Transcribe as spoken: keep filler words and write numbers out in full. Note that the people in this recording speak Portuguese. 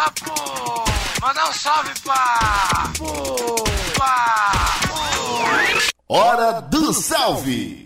Ah, pô! Mandar um salve pra... Pô! Pra... Hora do salve!